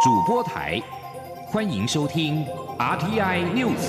主播台，欢迎收听 RTI News。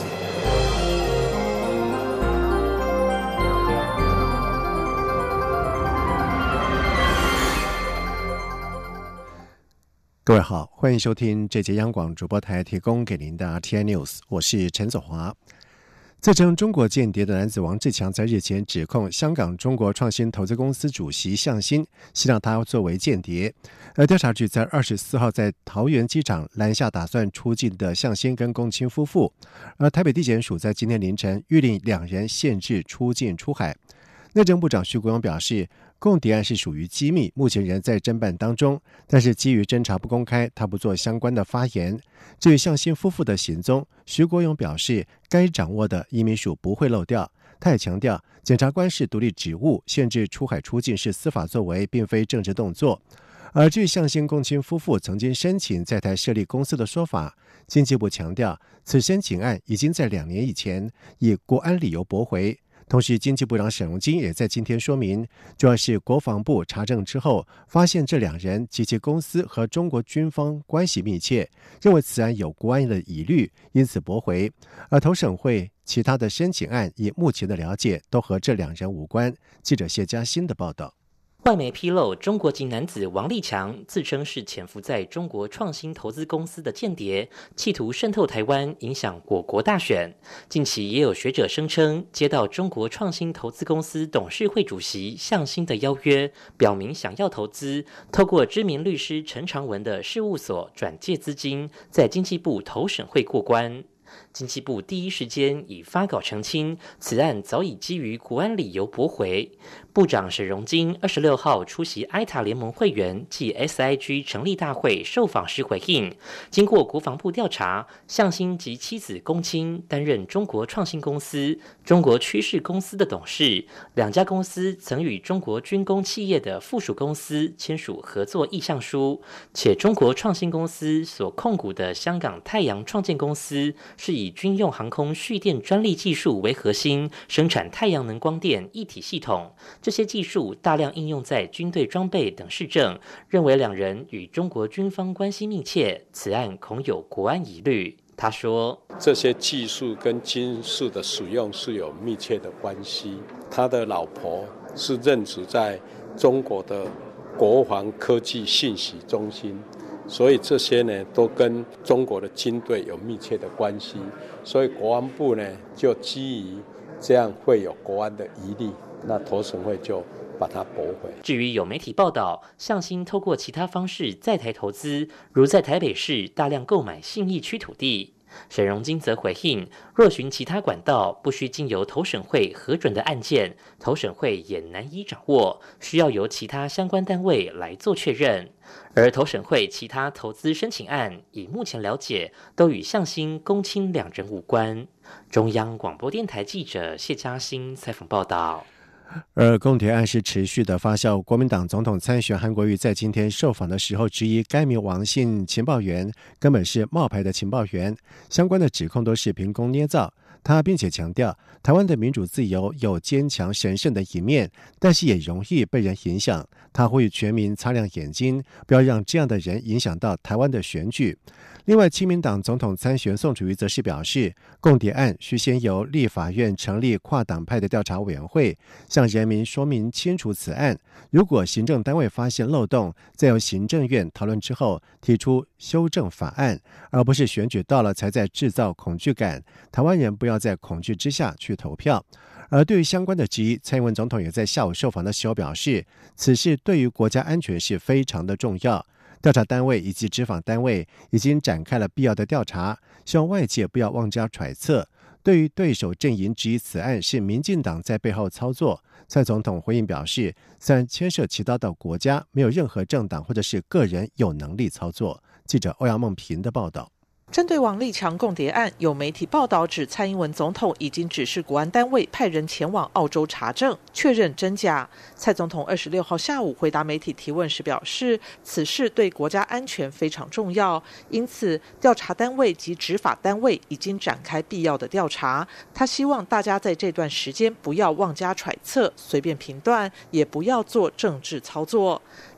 各位好，欢迎收听这节央广主播台提供给您的 RTI News， 我是陈子华。自称中国间谍的男子王志强在日前指控香港中国创新投资公司主席向新，希望他作为间谍。而调查局在24号在桃园机场拦下打算出境的向新跟龚清夫妇，而台北地检署在今天凌晨谕令两人限制出境出海。内政部长徐国勇表示，共谍案是属于机密，目前仍在侦办当中，但是基于侦查不公开，他不做相关的发言。至于向新夫妇的行踪，徐国勇表示，该掌握的移民署不会漏掉。他也强调，检察官是独立职务，限制出海出境是司法作为，并非政治动作。而至于向新、龚清夫妇曾经申请在台设立公司的说法，经济部强调，此申请案已经在2年以前以国安理由驳回。同时，经济部长沈荣津也在今天说明，主要是国防部查证之后，发现这两人及其公司和中国军方关系密切，认为此案有国安的疑虑，因此驳回。而投审会其他的申请案，以目前的了解，都和这两人无关。记者谢嘉欣的报道。 外媒披露，中国籍男子王立强自称是潜伏在中国创新投资公司的间谍，企图渗透台湾，影响我国大选。近期也有学者声称，接到中国创新投资公司董事会主席向新的邀约，表明想要投资，透过知名律师陈长文的事务所转借资金，在经济部投审会过关。经济部第一时间以发稿澄清，此案早已基于国安理由驳回。部长沈荣津26号出席埃塔联盟会员暨 SIG 成立大会受访时回应，经过国防部调查，向新及妻子龚清担任中国创新公司、中国趋势公司的董事，两家公司曾与中国军工企业的附属公司签署合作意向书，且中国创新公司所控股的香港太阳创建公司是以军用航空蓄电专利技术为核心，生产太阳能光电一体系统。这些技术大量应用在军队装备等事证，认为两人与中国军方关系密切，此案恐有国安疑虑。他说， 这些技术跟军事的使用是有密切的关系。他的老婆是任职在中国的国防科技信息中心，所以这些呢都跟中国的军队有密切的关系，所以国安部呢就基于这样会有国安的疑虑，那投审会就把它驳回。 至于有媒体报道，向新透过其他方式在台投资，如在台北市大量购买信义区土地。沈荣津则回应，若循其他管道，不需经由投审会核准的案件，投审会也难以掌握，需要由其他相关单位来做确认。而投审会其他投资申请案，以目前了解，都与向新、龚清两人无关。中央广播电台记者谢嘉欣采访报道。 而共谍案是持续的发酵，国民党总统参选韩国瑜在今天受访的时候质疑该名王姓情报员根本是冒牌的情报员，相关的指控都是凭空捏造。他并且强调，台湾的民主自由有坚强神圣的一面，但是也容易被人影响。他呼吁全民擦亮眼睛，不要让这样的人影响到台湾的选举。另外，亲民党总统参选宋楚瑜则是表示，共谍案需先由立法院成立跨党派的调查委员会，向人民说明清楚此案。如果行政单位发现漏洞，再由行政院讨论之后提出修正法案，而不是选举到了才在制造恐惧感。台湾人不要在恐惧之下去投票。而对于相关的质疑，蔡英文总统也在下午受访的时候表示，此事对于国家安全是非常的重要。调查单位以及执法单位已经展开了必要的调查，希望外界不要妄加揣测。对于对手阵营质疑此案是民进党在背后操作，蔡总统回应表示，虽然牵涉其他的国家，没有任何政党或者是个人有能力操作。记者欧阳梦平的报道。 针对王立强共谍案，有媒体报道指蔡英文总统已经指示国安单位派人前往澳洲查证，确认真假。蔡总统26号下午回答媒体提问时表示，此事对国家安全非常重要，因此调查单位及执法单位已经展开必要的调查。他希望大家在这段时间不要妄加揣测、随便评断，也不要做政治操作。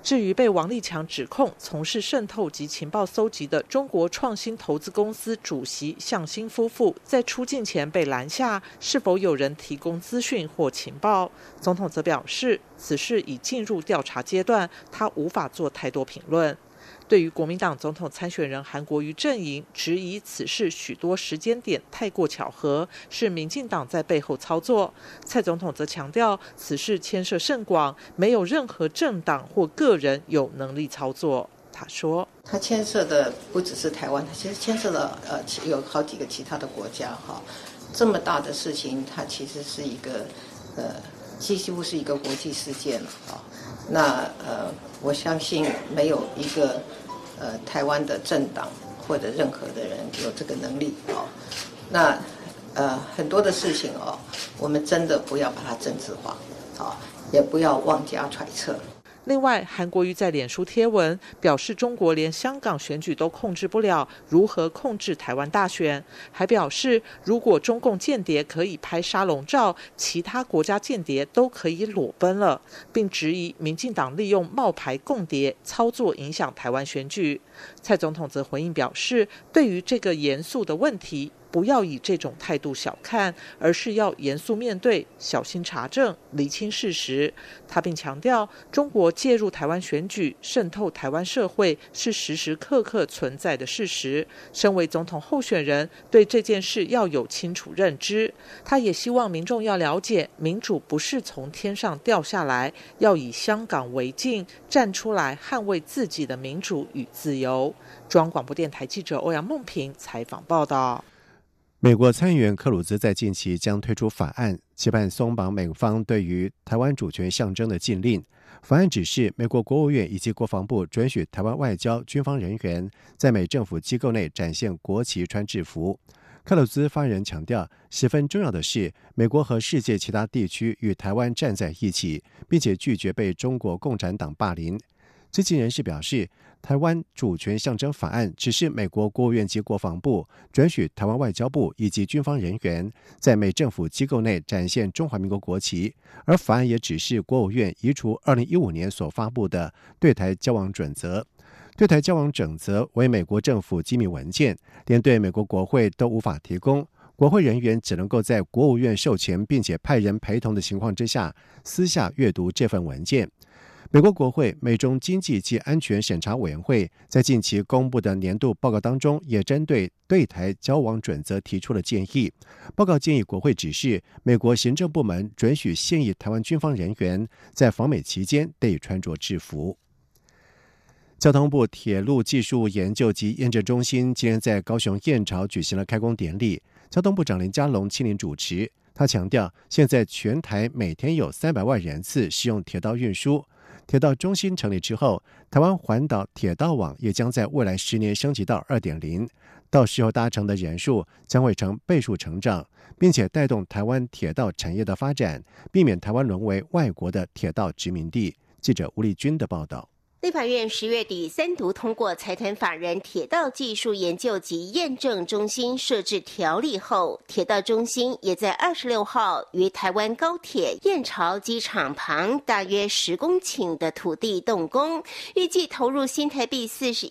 至于被王立强指控从事渗透及情报搜集的中国创新投资公司主席向新夫妇，在出境前被拦下，是否有人提供资讯或情报？总统则表示，此事已进入调查阶段，他无法做太多评论。对于国民党总统参选人韩国瑜阵营质疑此事许多时间点太过巧合，是民进党在背后操作，蔡总统则强调此事牵涉甚广，没有任何政党或个人有能力操作。他说， 它牵涉的不只是台湾，它其实牵涉了有好几个其他的国家哈。这么大的事情，它其实是一个几乎是一个国际事件了啊。那我相信没有一个台湾的政党或者任何的人有这个能力哦。那很多的事情哦，我们真的不要把它政治化啊，也不要妄加揣测。 另外，韩国瑜在脸书贴文表示，中国连香港选举都控制不了，如何控制台湾大选？还表示，如果中共间谍可以拍沙龙照，其他国家间谍都可以裸奔了，并质疑民进党利用冒牌共谍操作影响台湾选举。蔡总统则回应表示，对于这个严肃的问题，不要以这种态度小看，而是要严肃面对，小心查证，厘清事实。他并强调，中国介入台湾选举、渗透台湾社会是时时刻刻存在的事实。身为总统候选人，对这件事要有清楚认知。他也希望民众要了解，民主不是从天上掉下来，要以香港为镜，站出来捍卫自己的民主与自由。中央广播电台记者欧阳梦平采访报道。 美国参议员克鲁兹在近期将推出法案，期盼松绑美方对于台湾主权象征的禁令。法案指示美国国务院以及国防部准许台湾外交、军方人员在美政府机构内展现国旗、穿制服。克鲁兹发言人强调，十分重要的是，美国和世界其他地区与台湾站在一起，并且拒绝被中国共产党霸凌。知情人士表示，台湾主权象征法案只是美国国务院及国防部准许台湾外交部以及军方人员在美政府机构内展现中华民国国旗，而法案也指示国务院移除2015年所发布的对台交往准则。对台交往准则为美国政府机密文件，连对美国国会都无法提供，国会人员只能够在国务院授权并且派人陪同的情况之下私下阅读这份文件。美国国会美中经济及安全审查委员会在近期公布的年度报告当中，也针对对台交往准则提出了建议。报告建议国会指示美国行政部门准许现役台湾军方人员在访美期间得以穿着制服。交通部铁路技术研究及验证中心今天在高雄燕巢举行了开工典礼，交通部长林佳龙亲临主持。他强调，现在全台每天有300万人次使用铁道运输。铁道中心成立之后，台湾环岛铁道网也将在未来10年升级到 2.0， 到时候搭乘的人数将会呈倍数成长，并且带动台湾铁道产业的发展，避免台湾沦为外国的铁道殖民地。记者吴丽君的报道。 立法院10月底3读通过财团法人铁道技术研究及验证中心设置条例后，铁道中心也在26号于台湾高铁燕巢机场旁大约10公顷的土地动工，预计投入新台币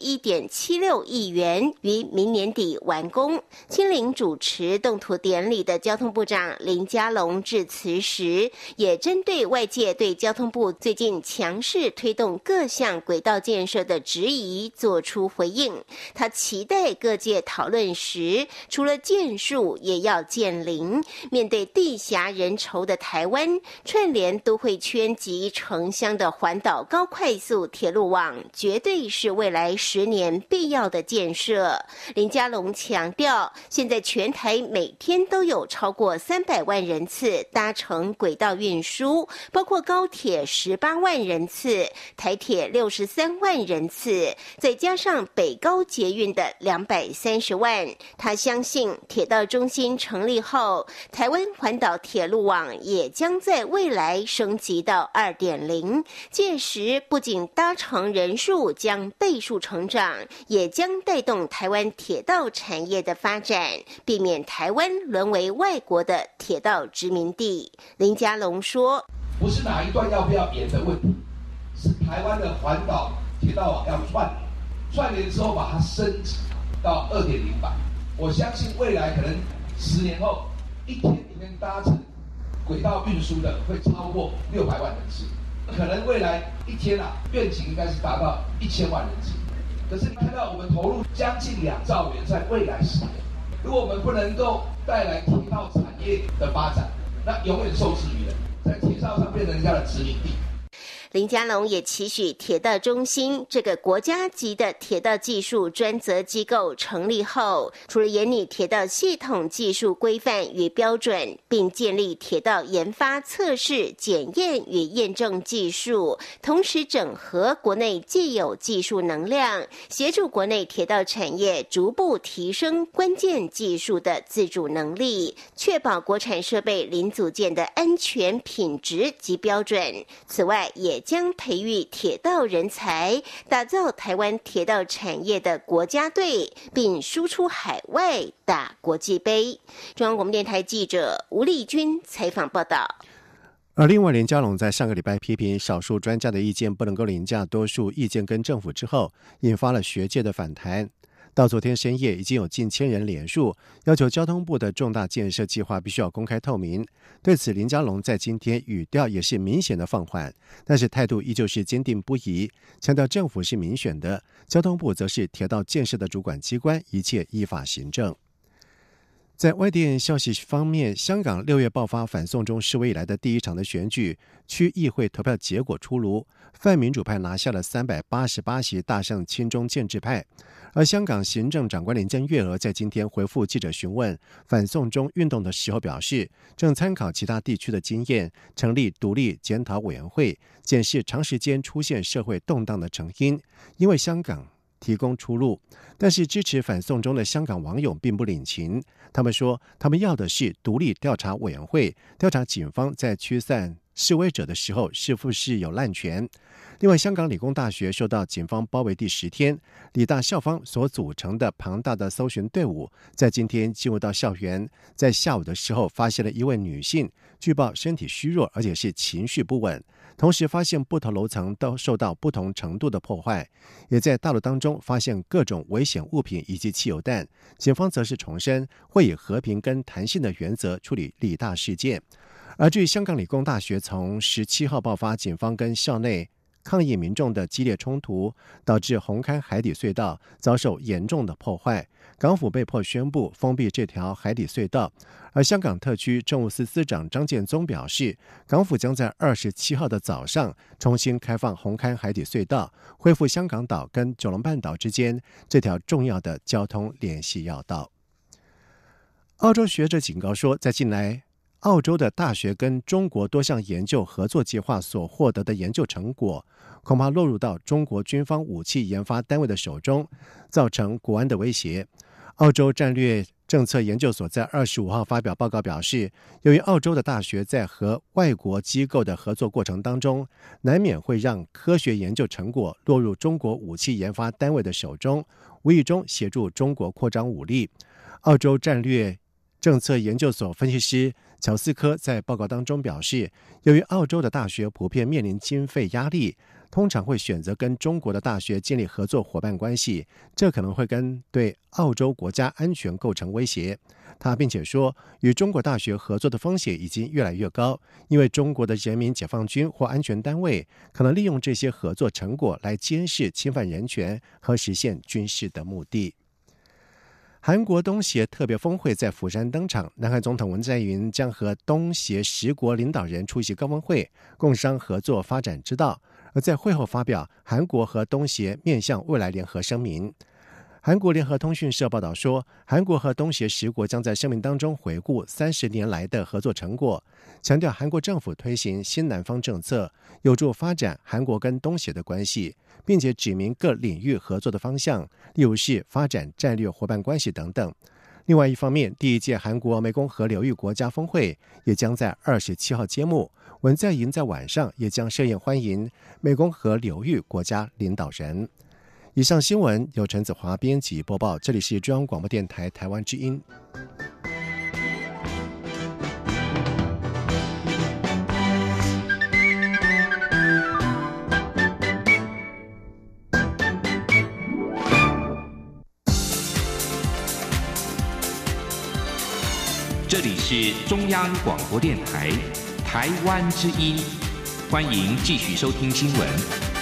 41.76亿元，于明年底完工。亲临主持动土典礼的交通部长林佳龙致辞时，也针对外界对交通部最近强势推动各项轨道建设的质疑做出回应。他期待各界讨论时，除了建树也要建林。面对地狭人稠的台湾，串联都会圈及城乡的环岛高快速铁路网，绝对是未来10年必要的建设。林佳龙强调，现在全台每天都有超过300万人次搭乘轨道运输，包括高铁18万人次，台铁63万人次，再加上北高捷运的230万。他相信铁道中心成立后，台湾环岛铁路网也将在未来升级到 2.0， 届时不仅搭乘人数将倍数成长，也将带动台湾铁道产业的发展，避免台湾沦为外国的铁道殖民地。林佳龙说， 不是哪一段要不要延的问题，是台湾的环岛铁道网要串联之后把它升级到2.0版。我相信未来可能10年后，一天搭乘轨道运输的会超过600万人次，可能未来一天愿景应该是达到1000万人次。可是你看到我们投入将近2兆元在未来10年，如果我们不能够带来铁道产业的发展，那永远受制于人，在铁道上变成人家的殖民地。 林佳龙也期许铁道中心这个国家级的铁道技术专责机构成立后，除了研拟铁道系统技术规范与标准，并建立铁道研发、测试、检验与验证技术，同时整合国内既有技术能量，协助国内铁道产业逐步提升关键技术的自主能力，确保国产设备零组件的安全品质及标准。此外，也将培育铁道人才，打造台湾铁道产业的国家队，并输出海外打国际杯。中央广播电台记者吴丽君采访报道。 而另外，林佳龙在上个礼拜批评少数专家的意见不能够凌驾多数意见跟政府之后，引发了学界的反弹。到昨天深夜，已经有近1000人联署，要求交通部的重大建设计划必须要公开透明。对此，林佳龙在今天语调也是明显的放缓，但是态度依旧是坚定不移，强调政府是民选的，交通部则是铁道建设的主管机关，一切依法行政。在外电消息方面，香港6月爆发反送中示威以来的第一场的选举，区议会投票结果出炉，泛民主派拿下了388席，大胜亲中建制派。而香港行政长官林郑月娥在今天回复记者询问反送中运动的时候表示，正参考其他地区的经验，成立独立检讨委员会，检视长时间出现社会动荡的成因，因为香港提供出路。但是支持反送中的香港网友并不领情，他们说他们要的是独立调查委员会，调查警方在驱散示威者的时候是不是有滥权。另外，香港理工大学受到警方包围第10天，理大校方所组成的庞大的搜寻队伍在今天进入到校园，在下午的时候发现了一位女性，据报身体虚弱，而且是情绪不稳，同时发现不同楼层都受到不同程度的破坏，也在大楼当中发现各种危险物品以及汽油弹。警方则是重申会以和平跟弹性的原则处理理大事件。而至于香港理工大学从17号爆发警方跟校内抗议民众的激烈冲突，导致红磡海底隧道遭受严重的破坏，港府被迫宣布封闭这条海底隧道。而香港特区政务司司长张建宗表示，港府将在27号的早上重新开放红磡海底隧道，恢复香港岛跟九龙半岛之间这条重要的交通联系要道。澳洲学者警告说，在近来澳洲的大学跟中国多项研究合作计划所获得的研究成果，恐怕落入到中国军方武器研发单位的手中，造成国安的威胁。澳洲战略政策研究所在25号发表报告表示，由于澳洲的大学在和外国机构的合作过程当中，难免会让科学研究成果落入中国武器研发单位的手中，无意中协助中国扩张武力。澳洲战略政策研究所分析师乔斯科在报告当中表示，由于澳洲的大学普遍面临经费压力，通常会选择跟中国的大学建立合作伙伴关系，这可能会对澳洲国家安全构成威胁。他并且说，与中国大学合作的风险已经越来越高，因为中国的人民解放军或安全单位可能利用这些合作成果来监视侵犯人权和实现军事的目的。韩国东协特别峰会在釜山登场，南韩总统文在寅将和东协10国领导人出席高峰会，共商合作发展之道。而在会后发表韩国和东协面向未来联合声明。韩国联合通讯社报道说，韩国和东协10国将在声明当中回顾30年来的合作成果，强调韩国政府推行新南方政策，有助发展韩国跟东协的关系，并且指明各领域合作的方向，例如是发展战略伙伴关系等等。另外一方面，第1届韩国湄公河流域国家峰会也将在27号揭幕，文在寅在晚上也将设宴欢迎湄公河流域国家领导人。以上新闻由陈子华编辑播报，这里是中央广播电台台湾之音。 这里是中央广播电台台湾之音，欢迎继续收听新闻。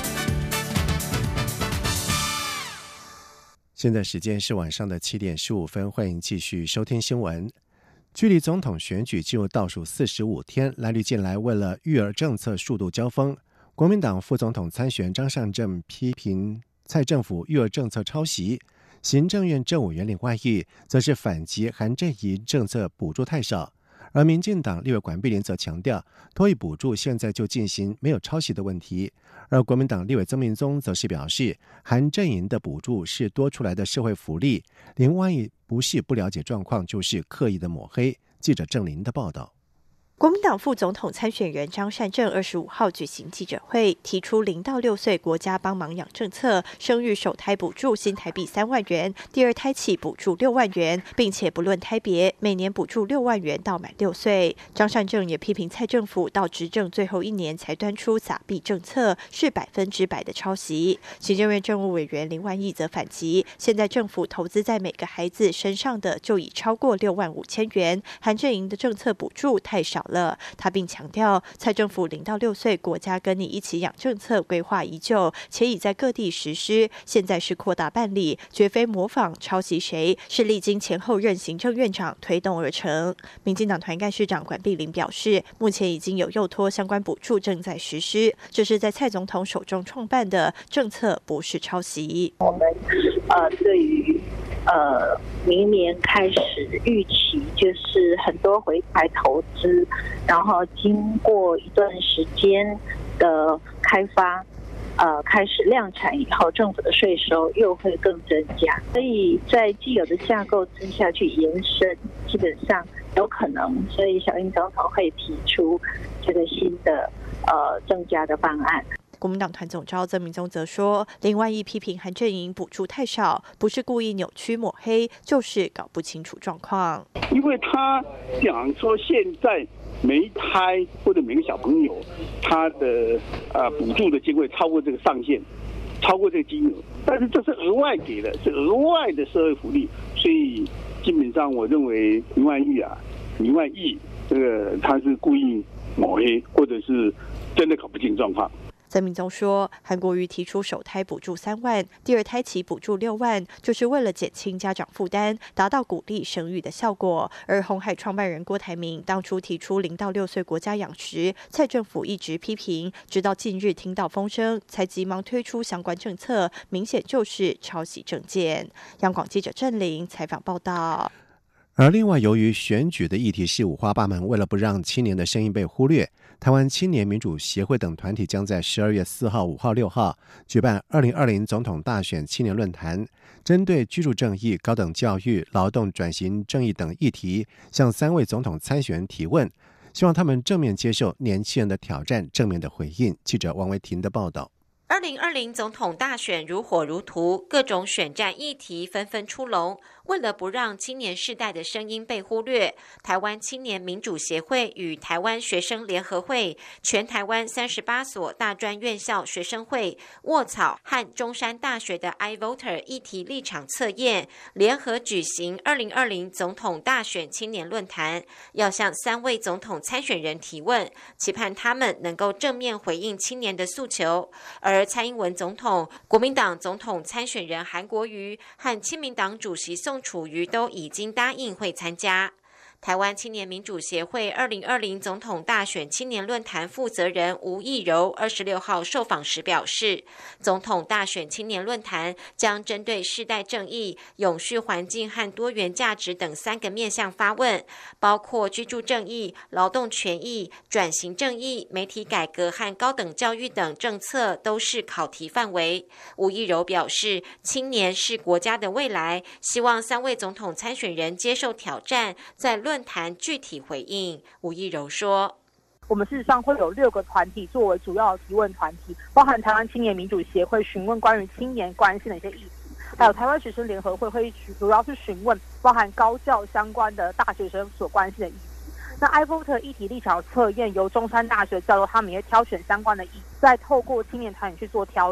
现在时间是晚上的7点15分，欢迎继续收听新闻。距离总统选举进入倒数45天，蓝绿近来为了育儿政策数度交锋。国民党副总统参选张善政批评蔡政府育儿政策抄袭，行政院政务员林万亿则是反击韩正仪政策补助太少，而民进党立委管碧玲则强调托育补助现在就进行，没有抄袭的问题。而国民党立委曾明宗则是表示，韩正营的补助是多出来的社会福利，林万亿不是不了解状况，就是刻意的抹黑。记者郑林的报道。 国民党副总统参选人张善政25号举行记者会，提出0到6岁国家帮忙养政策，生育首胎补助新台币3万元，第二胎起补助6万元，并且不论胎别，每年补助6万元到满6岁。张善政也批评蔡政府到执政最后1年才端出撒币政策，是100%的抄袭。行政院政务委员林万亿则反击，现在政府投资在每个孩子身上的就已超过6万5千元，韩正营的政策补助太少了。他并强调，蔡政府0到6岁国家跟你一起养政策规划已久，且已在各地实施，现在是扩大办理，绝非模仿抄袭谁，是历经前后任行政院长推动而成。民进党团干事长管碧玲表示，目前已经有幼托相关补助正在实施，这是在蔡总统手中创办的政策，不是抄袭。 我们对于明年开始预期就是很多回台投资，然后经过一段时间的开发，开始量产以后，政府的税收又会更增加，所以在既有的架构之下去延伸，基本上有可能，所以小英总统会提出这个新的增加的方案。 国民党团总召曾明宗则说，林万亿批评韩正营补助太少，不是故意扭曲抹黑，就是搞不清楚状况。 因为他讲说现在每一胎或者每个小朋友，他的补助的金额超过这个上限，超过这个金额，但是这是额外给的，是额外的社会福利，所以基本上我认为林万亿这个他是故意抹黑，或者是真的搞不清状况。 曾明宗说，韩国瑜提出首胎补助3万，第二胎起补助6万，就是为了减轻家长负担，达到鼓励生育的效果。而鸿海创办人郭台铭当初提出0到6岁国家养时，蔡政府一直批评，直到近日听到风声，才急忙推出相关政策，明显就是抄袭政见。央广记者郑玲采访报道。 而另外，由于选举的议题是五花八门，为了不让青年的声音被忽略，台湾青年民主协会等团体将在12月4号、5号、6号举办2020总统大选青年论坛，针对居住正义、高等教育、劳动转型正义等议题，向3位总统参选人提问，希望他们正面接受年轻人的挑战，正面的回应。记者王维婷的报道。 2020总统大选如火如荼，各种选战议题纷纷出笼。为了不让青年世代的声音被忽略，台湾青年民主协会与台湾学生联合会、全台湾38所大专院校学生会、沃草和中山大学的 iVoter 议题立场测验，联合举行2020总统大选青年论坛，要向3位总统参选人提问，期盼他们能够正面回应青年的诉求。而蔡英文总统、国民党总统参选人韩国瑜和亲民党主席宋楚瑜都已经答应会参加。台湾青年民主协会2020总统大选青年论坛负责人吴益柔26号受访时表示，总统大选青年论坛将针对世代正义、永续环境和多元价值等3个面向发问，包括居住正义、劳动权益、转型正义、媒体改革和高等教育等政策都是考题范围。吴益柔表示，青年是国家的未来，希望3位总统参选人接受挑战，在论坛具体回应。吴益柔说， 我们事实上会有6个团体作为主要的提问团体，包含台湾青年民主协会询问关于青年关心的一些议题，还有台湾学生联合会会主要是询问包含高教相关的大学生所关心的议题。那 iVoter 议题立场测验由中山大学教授，他们也挑选相关的议题，再透过青年团体去做挑选。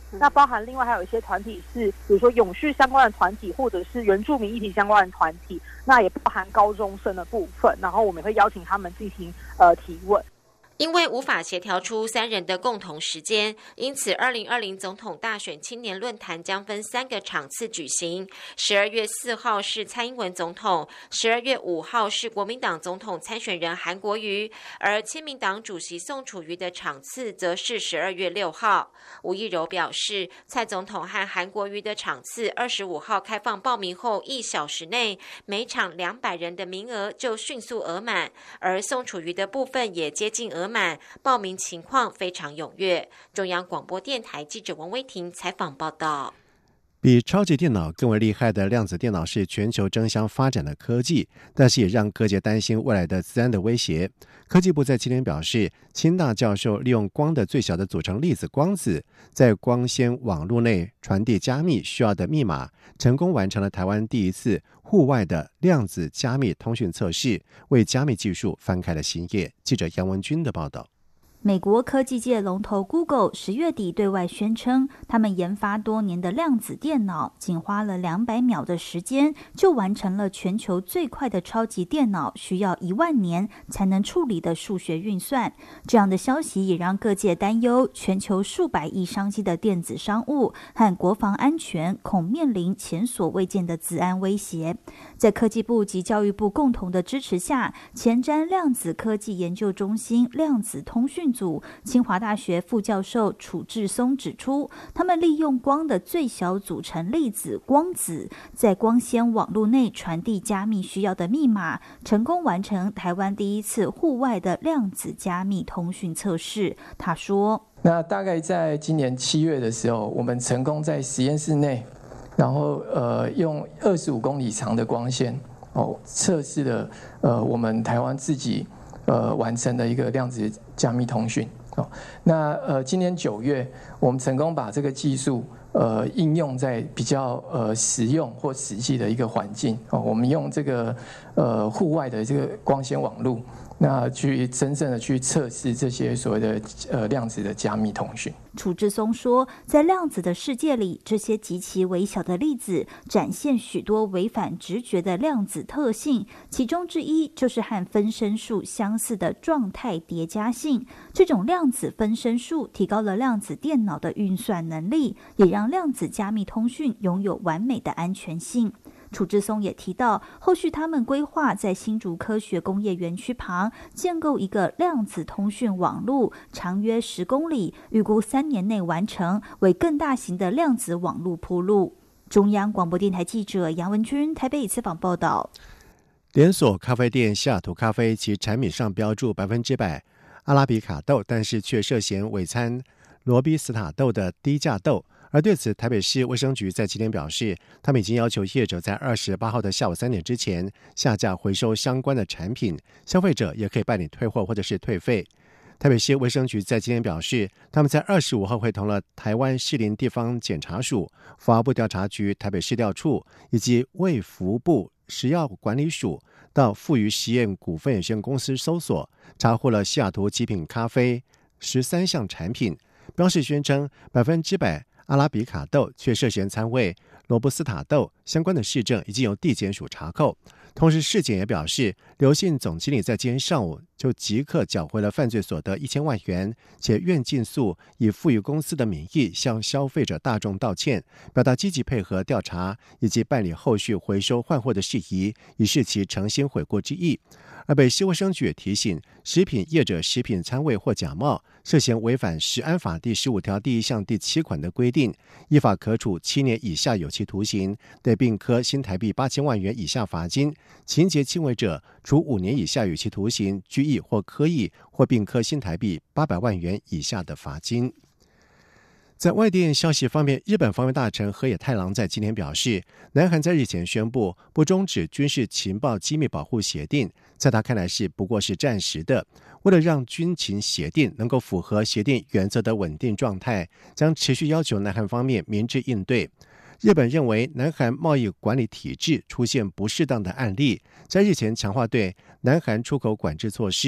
那包含另外还有一些团体是，比如说永续相关的团体，或者是原住民议题相关的团体，那也包含高中生的部分，然后我们会邀请他们进行提问。 因为无法协调出3人的共同时间，因此2020总统大选青年论坛将分3个场次举行。12月4号是蔡英文总统，12月5号是国民党总统参选人韩国瑜，而亲民党主席宋楚瑜的场次则是12月6号。吴益柔表示，蔡总统和韩国瑜的场次25号开放报名后1小时内，每场200人的名额就迅速额满，而宋楚瑜的部分也接近额满，报名情况非常踊跃。中央广播电台记者王威婷采访报道。 比超级电脑更为厉害的量子电脑是全球争相发展的科技，但是也让各界担心未来的资安的威胁。科技部在今天表示，清大教授利用光的最小的组成粒子光子，在光纤网络内传递加密需要的密码，成功完成了台湾第一次户外的量子加密通讯测试，为加密技术翻开了新页。记者杨文君的报道。 美国科技界龙头 Google 10月底对外宣称，他们研发多年的量子电脑仅花了200秒的时间，就完成了全球最快的超级电脑需要1万年才能处理的数学运算。这样的消息也让各界担忧，全球数百亿商机的电子商务和国防安全恐面临前所未见的资安威胁。在科技部及教育部共同的支持下，前瞻量子科技研究中心量子通讯组清华大学副教授楚志松指出，他们利用光的最小组成粒子光子，在光纤网络内传递加密需要的密码，成功完成台湾第一次户外的量子加密通讯测试。他说， 那大概在今年7月的时候，我们成功在实验室内，然后用25公里长的光纤测试了我们台湾自己完成的一个量子加密通讯。那今年9月，我们成功把这个技术应用在比较实用或实际的一个环境。我们用这个户外的这个光纤网路，那去真正的去测试这些所谓的量子的加密通讯。 楚志松说，在量子的世界里，这些极其微小的粒子展现许多违反直觉的量子特性，其中之一就是和分身术相似的状态叠加性。这种量子分身术提高了量子电脑的运算能力，也让量子加密通讯拥有完美的安全性。楚志松也提到，后续他们规划在新竹科学工业园区旁建构一个量子通讯网路，长约10公里，预估3年内完成，为更大型的量子网路铺路。中央广播电台记者杨文君台北采访报道。 连锁咖啡店西雅图咖啡其产品上标注100%阿拉比卡豆，但是却涉嫌伪掺罗比斯塔豆的低价豆。而对此，台北市卫生局在今天表示，他们已经要求业者在28号的下午3点之前下架回收相关的产品，消费者也可以办理退货或者是退费。台北市卫生局在今天表示，他们在25号会同了台湾士林地方检察署、法务部调查局、台北市调处以及卫福部食药管理署到富余实验股份有限公司搜索，查获了西雅图极品咖啡13项产品，标示宣称100%阿拉比卡豆，却涉嫌掺伪罗布斯塔豆，相关的市政已经由地检署查扣。同时，市检也表示，刘姓总经理在今天上午就即刻缴回了犯罪所得1000万元，且愿尽速以富裕公司的名义向消费者大众道歉，表达积极配合调查以及办理后续回收换货的事宜，以示其诚心悔过之意。而北市卫生局也提醒，食品业者食品掺伪或假冒，涉嫌违反食安法第15条第1项第7款的规定，依法可处7年以下有期徒刑，得并科新台币8000万元以下罚金；情节轻微者，处5年以下有期徒刑、拘役或科役，或并科新台币800万元以下的罚金。在外电消息方面，日本防卫大臣河野太郎在今天表示，南韩在日前宣布不终止军事情报机密保护协定，在他看来是不过是暂时的。为了让军情协定能够符合协定原则的稳定状态，将持续要求南韩方面明智应对。日本认为南韩贸易管理体制出现不适当的案例，在日前强化对南韩出口管制措施，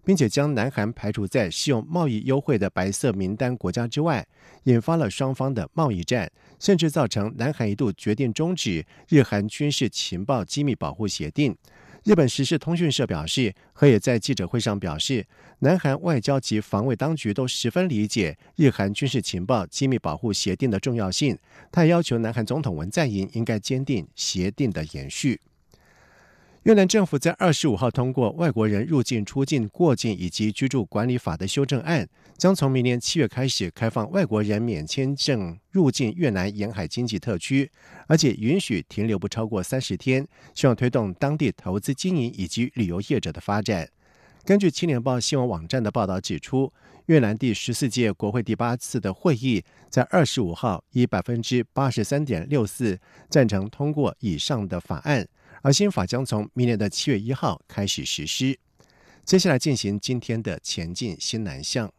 并且将南韩排除在适用贸易优惠的白色名单国家之外，引发了双方的贸易战，甚至造成南韩一度决定终止日韩军事情报机密保护协定。日本时事通讯社表示，河野在记者会上表示，南韩外交及防卫当局都十分理解日韩军事情报机密保护协定的重要性，他也要求南韩总统文在寅应该坚定协定的延续。越南政府在25号通过《外国人入境、出境、过境以及居住管理法》的修正案，将从明年7月开始开放外国人免签证入境越南沿海经济特区，而且允许停留不超过30天，希望推动当地投资经营以及旅游业者的发展。根据青年报新闻网站的报道指出，越南第14届国会第8次的会议在25号以 83.64% 赞成通过以上的法案，而新法将从明年的7月1号开始实施。接下来进行今天的前进新南向。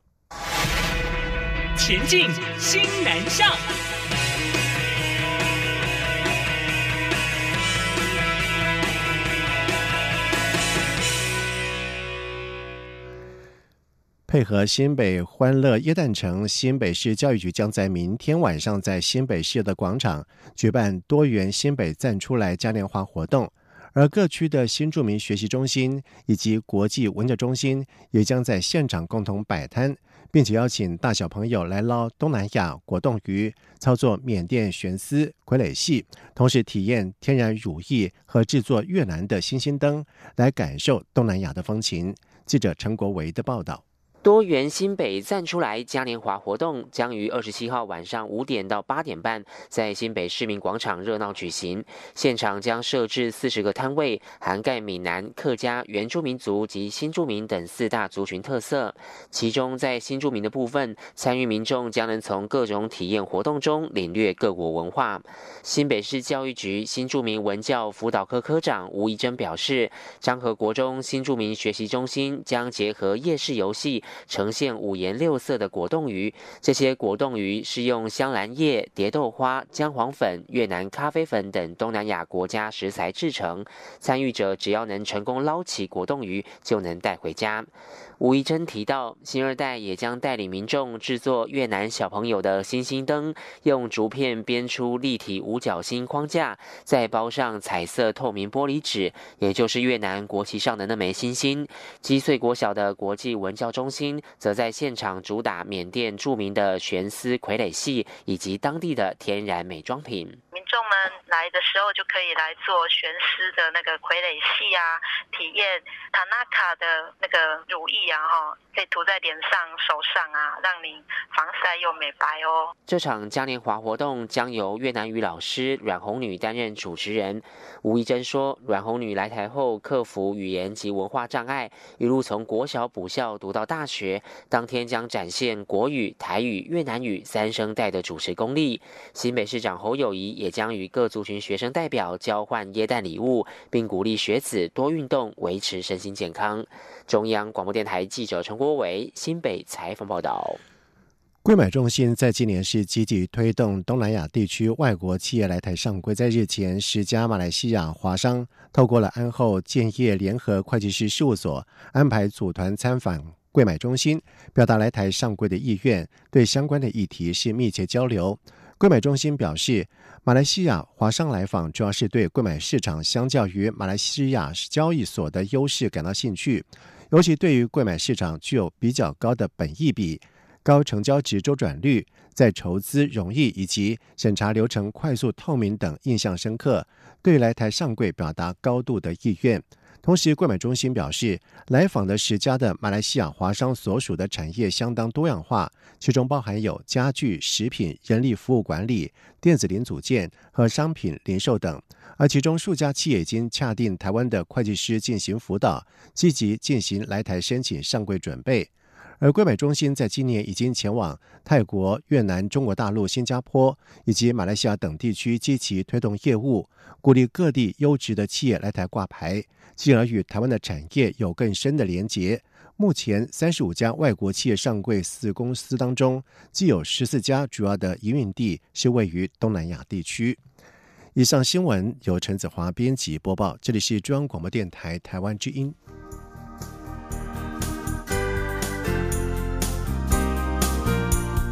前进新南向。 配合新北欢乐耶诞城，新北市教育局将在明天晚上在新北市的广场举办多元新北站出来嘉年华活动，而各区的新住民学习中心以及国际文教中心也将在现场共同摆摊，并且邀请大小朋友来捞东南亚果冻鱼，操作缅甸悬丝、傀儡戏，同时体验天然乳液和制作越南的星星灯，来感受东南亚的风情。记者陈国维的报道。 多元新北站出来嘉年华活动将于27号晚上5点到8点半在新北市民广场热闹举行，现场将设置40个摊位，涵盖闽南、客家、原住民族及新住民等4大族群特色。其中在新住民的部分，参与民众将能从各种体验活动中领略各国文化。新北市教育局新住民文教辅导科科长吴怡珍表示，彰和国中新住民学习中心将结合夜市游戏，呈现5颜6色的果冻鱼，这些果冻鱼是用香兰叶、蝶豆花、姜黄粉、越南咖啡粉等东南亚国家食材制成。参与者只要能成功捞起果冻鱼，就能带回家。吴怡珍提到，新二代也将带领民众制作越南小朋友的星星灯，用竹片编出立体五角星框架，再包上彩色透明玻璃纸，也就是越南国旗上的那枚星星。基穗国小的国际文教中心则在现场主打缅甸著名的悬丝傀儡戏以及当地的天然美妆品。 民众们来的时候就可以来做悬丝的那个傀儡戏啊，体验塔纳卡的那个乳液啊，可以涂在脸上、手上啊，让你防晒又美白哦。 这场嘉年华活动将由越南语老师阮红女担任主持人。吴怡珍说，阮红女来台后克服语言及文化障碍，一路从国小补校读到大学，当天将展现国语、台语、越南语3声带的主持功力。新北市长侯友宜也将与各族群学生代表交换耶诞礼物，并鼓励学子多运动，维持身心健康。中央广播电台记者陈国维新北采访报道。 柜买中心在今年是积极推动东南亚地区外国企业来台上柜，在日前10家马来西亚华商透过了安后建业联合会计师事务所安排组团参访柜买中心，表达来台上柜的意愿，对相关的议题是密切交流。柜买中心表示，马来西亚华商来访主要是对柜买市场相较于马来西亚交易所的优势感到兴趣，尤其对于柜买市场具有比较高的本益比、高成交值周转率、在筹资容易以及审查流程快速透明等印象深刻，对来台上柜表达高度的意愿。同时，柜买中心表示，来访的10家的马来西亚华商所属的产业相当多样化，其中包含有家具、食品、人力服务管理、电子零组件和商品零售等，而其中数家企业已经洽定台湾的会计师进行辅导，积极进行来台申请上柜准备。而柜买中心在今年已经前往泰国、越南、中国大陆、新加坡以及马来西亚等地区积极推动业务，鼓励各地优质的企业来台挂牌，进而与台湾的产业有更深的连结。目前35家外国企业上柜4公司当中，既有14家主要的营运地是位于东南亚地区。以上新闻由陈子华编辑播报，这里是中央广播电台台湾之音。